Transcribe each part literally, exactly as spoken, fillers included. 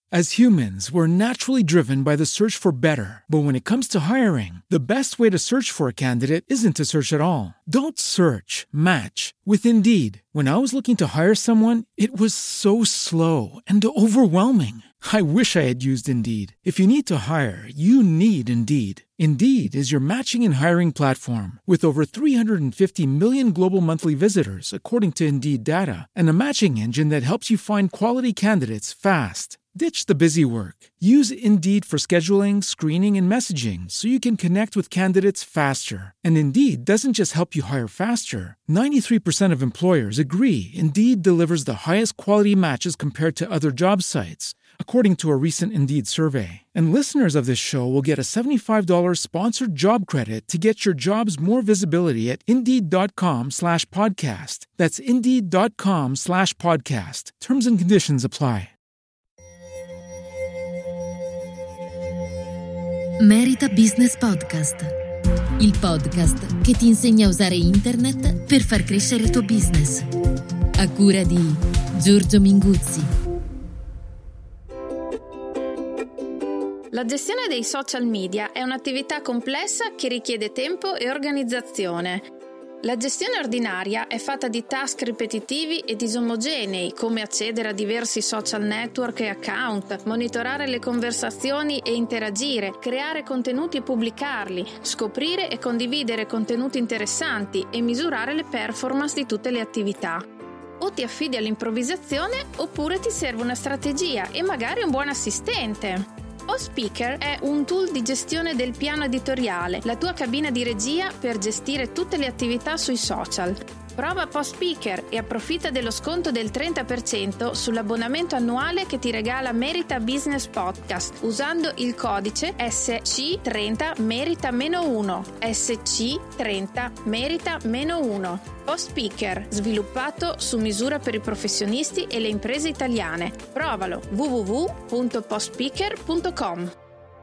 As humans, we're naturally driven by the search for better. But when it comes to hiring, the best way to search for a candidate isn't to search at all. Don't search, match with Indeed. When I was looking to hire someone, it was so slow and overwhelming. I wish I had used Indeed. If you need to hire, you need Indeed. Indeed is your matching and hiring platform with over three hundred fifty million global monthly visitors, according to Indeed data, and a matching engine that helps you find quality candidates fast. Ditch the busy work. Use Indeed for scheduling, screening, and messaging so you can connect with candidates faster. And Indeed doesn't just help you hire faster. ninety-three percent of employers agree Indeed delivers the highest quality matches compared to other job sites, according to a recent Indeed survey. And listeners of this show will get a seventy-five dollars sponsored job credit to get your jobs more visibility at Indeed.com slash podcast. That's Indeed.com slash podcast. Terms and conditions apply. Merita Business Podcast, il podcast che ti insegna a usare internet per far crescere il tuo business. A cura di Giorgio Minguzzi. La gestione dei social media è un'attività complessa che richiede tempo e organizzazione. La gestione ordinaria è fatta di task ripetitivi e disomogenei, come accedere a diversi social network e account, monitorare le conversazioni e interagire, creare contenuti e pubblicarli, scoprire e condividere contenuti interessanti e misurare le performance di tutte le attività. O ti affidi all'improvvisazione oppure ti serve una strategia e magari un buon assistente. PostSpeaker è un tool di gestione del piano editoriale, la tua cabina di regia per gestire tutte le attività sui social. Prova PostSpeaker e approfitta dello sconto del trenta per cento sull'abbonamento annuale che ti regala Merita Business Podcast usando il codice S C trenta merita uno. S C trenta merita uno. PostSpeaker, sviluppato su misura per i professionisti e le imprese italiane. Provalo w w w punto postspeaker punto com.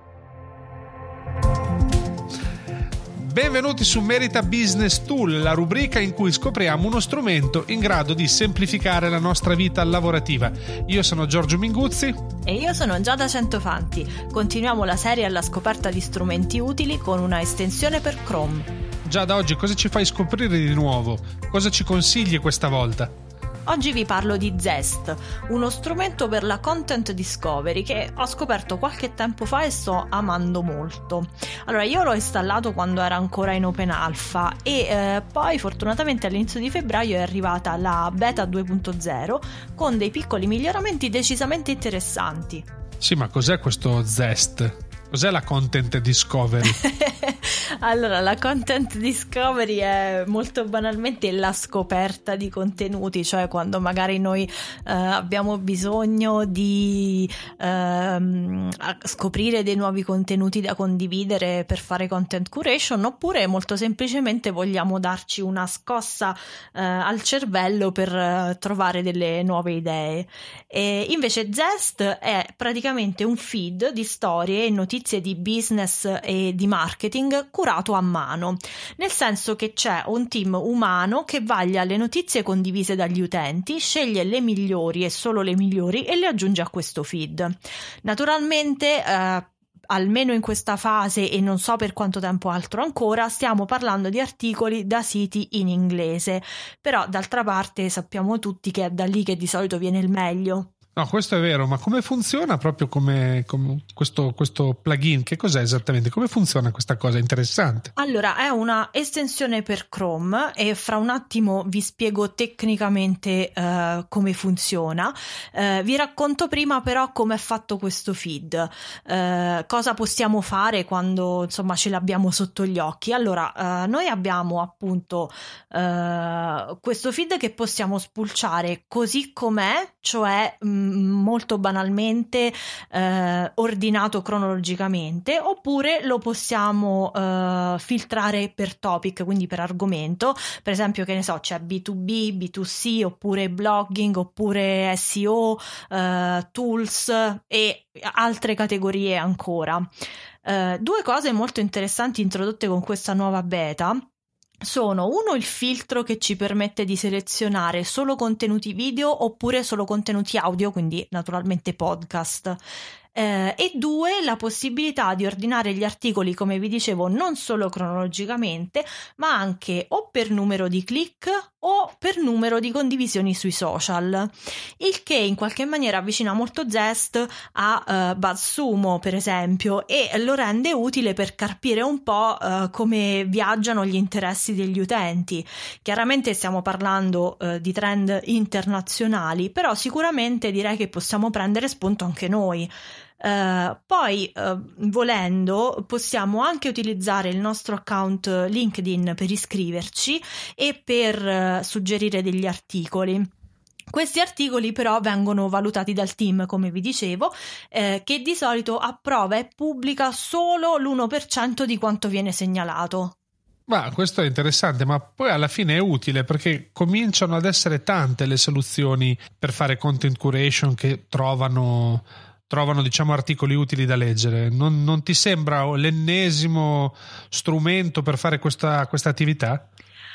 Benvenuti su Merita Business Tool, la rubrica in cui scopriamo uno strumento in grado di semplificare la nostra vita lavorativa. Io sono Giorgio Minguzzi. E io sono Giada Centofanti. Continuiamo la serie alla scoperta di strumenti utili con una estensione per Chrome. Giada, oggi cosa ci fai scoprire di nuovo? Cosa ci consigli questa volta? Oggi vi parlo di Zest, uno strumento per la content discovery che ho scoperto qualche tempo fa e sto amando molto. Allora, io l'ho installato quando era ancora in open alpha e eh, poi fortunatamente all'inizio di febbraio è arrivata la beta due punto zero con dei piccoli miglioramenti decisamente interessanti. Sì, ma cos'è questo Zest? Cos'è la content discovery? Allora, la content discovery è molto banalmente la scoperta di contenuti, cioè quando magari noi eh, abbiamo bisogno di ehm, scoprire dei nuovi contenuti da condividere per fare content curation, oppure molto semplicemente vogliamo darci una scossa eh, al cervello per eh, trovare delle nuove idee. E invece Zest è praticamente un feed di storie e notizie di business e di marketing curato a mano, nel senso che c'è un team umano che vaglia le notizie condivise dagli utenti, sceglie le migliori e solo le migliori e le aggiunge a questo feed. Naturalmente eh, almeno in questa fase e non so per quanto tempo altro ancora, stiamo parlando di articoli da siti in inglese, però d'altra parte sappiamo tutti che è da lì che di solito viene il meglio. No, questo è vero, ma come funziona proprio come, come questo, questo plugin? Che cos'è esattamente? Come funziona questa cosa? Interessante. Allora, è una estensione per Chrome e fra un attimo vi spiego tecnicamente uh, come funziona. Uh, vi racconto prima però come è fatto questo feed. Uh, cosa possiamo fare quando insomma ce l'abbiamo sotto gli occhi? Allora, uh, noi abbiamo appunto uh, questo feed che possiamo spulciare così com'è, cioè mh, molto banalmente eh, ordinato cronologicamente, oppure lo possiamo eh, filtrare per topic, quindi per argomento. Per esempio, che ne so, c'è B due B, B due C, oppure blogging, oppure S E O, eh, tools e altre categorie ancora. Eh, due cose molto interessanti introdotte con questa nuova beta sono uno il filtro che ci permette di selezionare solo contenuti video oppure solo contenuti audio, quindi naturalmente podcast. Eh, e due, la possibilità di ordinare gli articoli, come vi dicevo, non solo cronologicamente, ma anche o per numero di click o per numero di condivisioni sui social, il che in qualche maniera avvicina molto Zest a uh, BuzzSumo, per esempio, e lo rende utile per capire un po' uh, come viaggiano gli interessi degli utenti. Chiaramente stiamo parlando uh, di trend internazionali, però sicuramente direi che possiamo prendere spunto anche noi. Uh, poi uh, volendo possiamo anche utilizzare il nostro account LinkedIn per iscriverci e per uh, suggerire degli articoli. Questi articoli però vengono valutati dal team, come vi dicevo, eh, che di solito approva e pubblica solo l'uno per cento di quanto viene segnalato. Ma questo è interessante, ma poi alla fine è utile perché cominciano ad essere tante le soluzioni per fare content curation che trovano trovano diciamo articoli utili da leggere. Non, non ti sembra l'ennesimo strumento per fare questa, questa attività?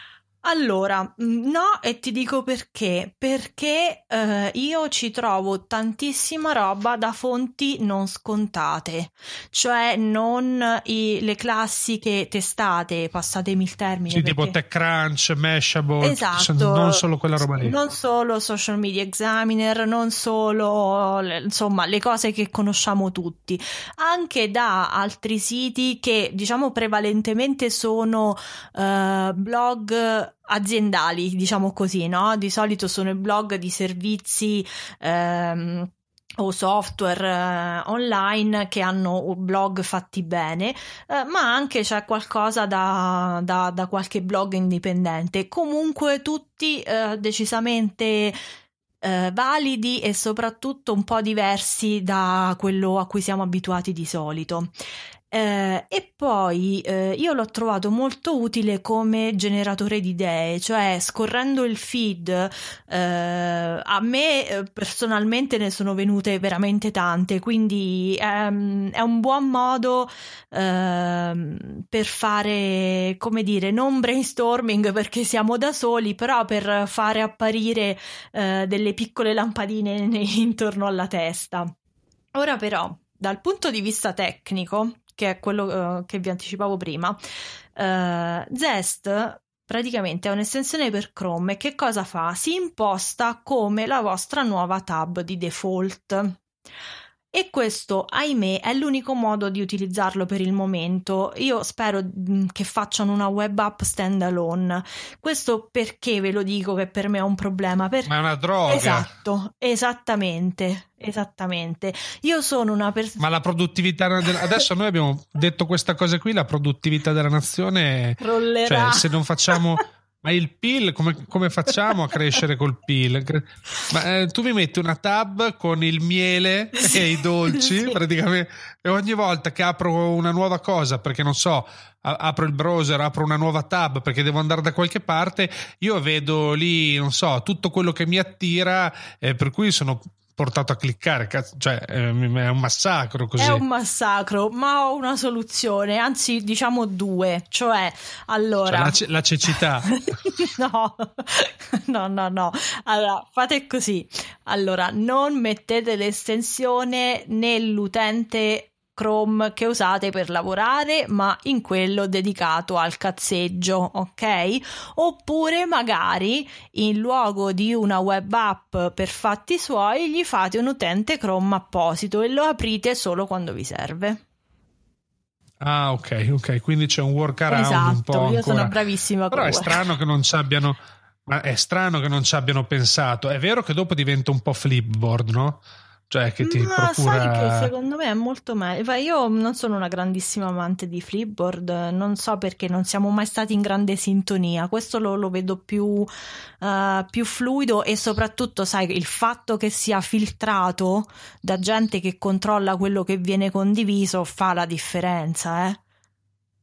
Allora, no, e ti dico perché. Perché eh, io ci trovo tantissima roba da fonti non scontate, cioè non i, le classiche testate, passatemi il termine. Sì, perché... tipo TechCrunch, Mashable, esatto, non solo quella roba lì. Non solo Social Media Examiner, non solo, insomma, le cose che conosciamo tutti, anche da altri siti che diciamo prevalentemente sono eh, blog aziendali, diciamo così, no? Di solito sono i blog di servizi ehm, o software eh, online che hanno blog fatti bene, eh, ma anche c'è qualcosa da, da, da qualche blog indipendente. Comunque tutti eh, decisamente eh, validi e soprattutto un po' diversi da quello a cui siamo abituati di solito. Eh, e poi eh, io l'ho trovato molto utile come generatore di idee, cioè scorrendo il feed eh, a me eh, personalmente ne sono venute veramente tante, quindi ehm, è un buon modo ehm, per fare, come dire, non brainstorming perché siamo da soli, però per fare apparire eh, delle piccole lampadine intorno alla testa. Ora però, dal punto di vista tecnico, che è quello uh, che vi anticipavo prima, uh, Zest praticamente è un'estensione per Chrome e che cosa fa? Si imposta come la vostra nuova tab di default. E questo, ahimè, è l'unico modo di utilizzarlo per il momento. Io spero che facciano una web app standalone. Questo perché ve lo dico che per me è un problema. Per... Ma è una droga. Esatto, esattamente, esattamente. Io sono una persona... Ma la produttività... Adesso noi abbiamo detto questa cosa qui, la produttività della nazione... Rollerà. Cioè, se non facciamo... Ma il P I L, come, come facciamo a crescere col P I L? Ma eh, tu mi metti una tab con il miele sì, e i dolci, sì. Praticamente, e ogni volta che apro una nuova cosa, perché non so, a- apro il browser, apro una nuova tab perché devo andare da qualche parte, io vedo lì, non so, tutto quello che mi attira, eh, per cui sono portato a cliccare, cazzo, cioè è un massacro così. È un massacro, ma ho una soluzione, anzi diciamo due, cioè allora cioè, la, ce- la cecità. no, no, no, no. Allora fate così. Allora non mettete l'estensione nell'utente Chrome che usate per lavorare, ma in quello dedicato al cazzeggio, ok? Oppure magari in luogo di una web app per fatti suoi gli fate un utente Chrome apposito e lo aprite solo quando vi serve. Ah, ok, ok, quindi c'è un workaround. Esatto, un po' io ancora. sono bravissima. Però è strano che non ci abbiano ma è strano che non ci abbiano pensato. È vero che dopo diventa un po' Flipboard, no? Cioè che ti Ma procura... sai che secondo me è molto meglio. Io non sono una grandissima amante di Flipboard, non so perché non siamo mai stati in grande sintonia. Questo lo, lo vedo più, uh, più fluido e soprattutto, sai, il fatto che sia filtrato da gente che controlla quello che viene condiviso fa la differenza, eh.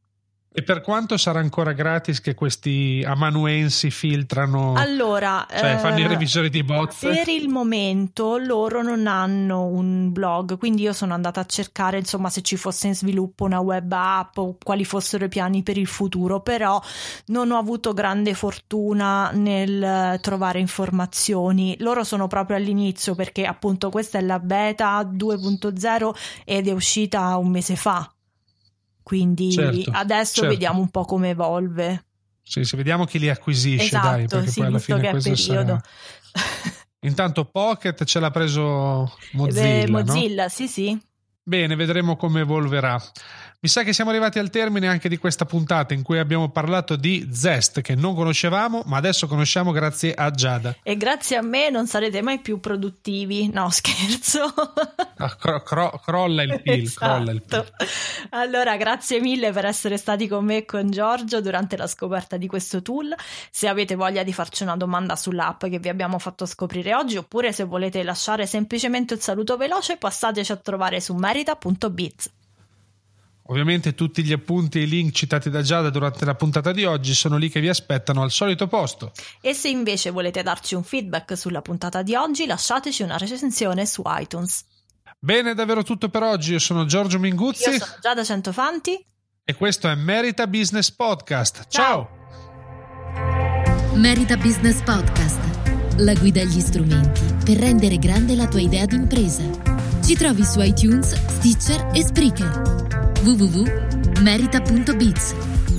E per quanto sarà ancora gratis che questi amanuensi filtrano, allora, cioè fanno eh, i revisori di bozze? Per il momento loro non hanno un blog, quindi io sono andata a cercare insomma se ci fosse in sviluppo una web app o quali fossero i piani per il futuro, però non ho avuto grande fortuna nel trovare informazioni. Loro sono proprio all'inizio, perché appunto questa è la beta due punto zero ed è uscita un mese fa. Quindi certo, adesso certo. vediamo un po' come evolve. Sì, se vediamo chi li acquisisce, esatto, dai, perché sì, poi alla fine che questo sarà... Intanto Pocket ce l'ha preso Mozilla, Beh, Mozilla, no? sì, sì. Bene, vedremo come evolverà. Mi sa che siamo arrivati al termine anche di questa puntata in cui abbiamo parlato di Zest, che non conoscevamo, ma adesso conosciamo grazie a Giada. E grazie a me non sarete mai più produttivi. No, scherzo. Ah, cro- cro- crolla il P I L, esatto. crolla il P I L. Allora, grazie mille per essere stati con me e con Giorgio durante la scoperta di questo tool. Se avete voglia di farci una domanda sull'app che vi abbiamo fatto scoprire oggi, oppure se volete lasciare semplicemente un saluto veloce, passateci a trovare su merita punto biz. Ovviamente tutti gli appunti e i link citati da Giada durante la puntata di oggi sono lì che vi aspettano al solito posto. E se invece volete darci un feedback sulla puntata di oggi, lasciateci una recensione su iTunes. Bene, è davvero tutto per oggi. Io sono Giorgio Minguzzi. Io sono Giada Centofanti. E questo è Merita Business Podcast. Ciao! Ciao. Merita Business Podcast. La guida agli strumenti per rendere grande la tua idea d'impresa. Ci trovi su iTunes, Stitcher e Spreaker. w w w punto merita punto biz.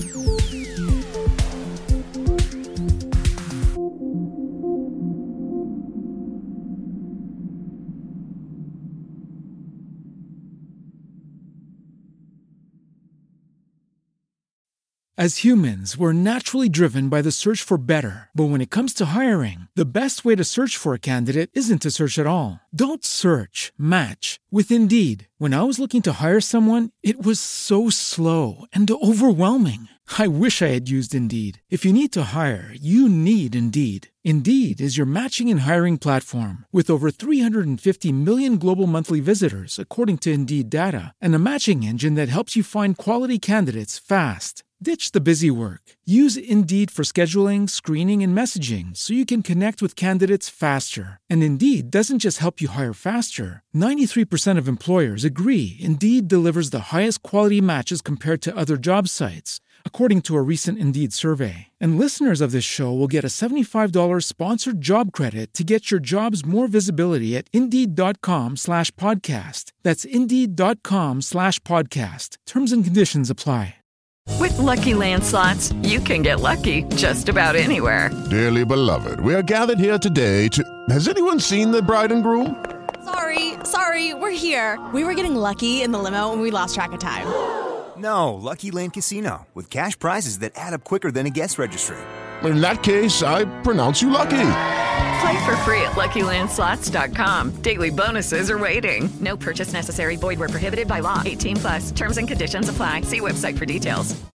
As humans, we're naturally driven by the search for better. But when it comes to hiring, the best way to search for a candidate isn't to search at all. Don't search, match with Indeed. When I was looking to hire someone, it was so slow and overwhelming. I wish I had used Indeed. If you need to hire, you need Indeed. Indeed is your matching and hiring platform with over three hundred fifty million global monthly visitors, according to Indeed data, and a matching engine that helps you find quality candidates fast. Ditch the busy work. Use Indeed for scheduling, screening, and messaging so you can connect with candidates faster. And Indeed doesn't just help you hire faster. ninety-three percent of employers agree Indeed delivers the highest quality matches compared to other job sites, according to a recent Indeed survey. And listeners of this show will get a seventy-five dollars sponsored job credit to get your jobs more visibility at Indeed.com slash podcast. That's Indeed.com slash podcast. Terms and conditions apply. With Lucky Land Slots, you can get lucky just about anywhere. Dearly beloved, we are gathered here today to... Has anyone seen the bride and groom? Sorry, sorry, we're here. We were getting lucky in the limo and we lost track of time. No, Lucky Land Casino, with cash prizes that add up quicker than a guest registry. In that case, I pronounce you lucky. Play for free at Lucky Land Slots dot com. Daily bonuses are waiting. No purchase necessary. Void where prohibited by law. eighteen plus. Terms and conditions apply. See website for details.